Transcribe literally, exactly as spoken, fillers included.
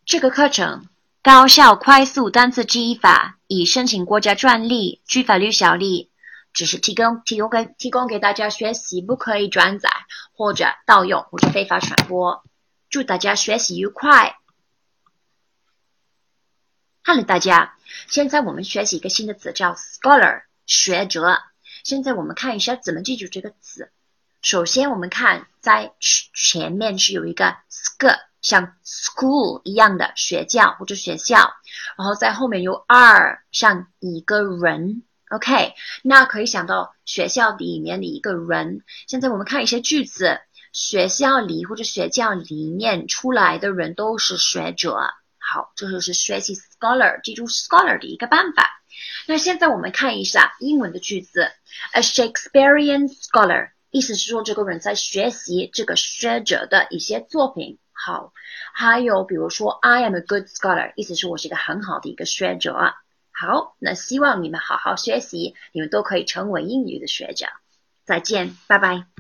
这个课程高效快速单词记忆法，已申请国家专利，具法律效力，只是提供提供给提供给大家学习，不可以转载或者盗用或者非法传播。祝大家学习愉快。Hello 大家，现在我们学习一个新的词叫 scholar 学者。现在我们看一下怎么记住这个词。首先我们看在前面是有一个 sk 像 school 一样的学校或者学校，然后在后面有 r 像一个人 OK， 那可以想到学校里面的一个人。现在我们看一些句子，学校里或者学校里面出来的人都是学者。好，这就是学习 scholar 记住 scholar 的一个办法。那现在我们看一下英文的句子 A Shakespearean scholar， 意思是说这个人在学习这个学者的一些作品。好，还有比如说 I am a good scholar， 意思是我是一个很好的一个学者。好，那希望你们好好学习，你们都可以成为英语的学者。再见，拜拜。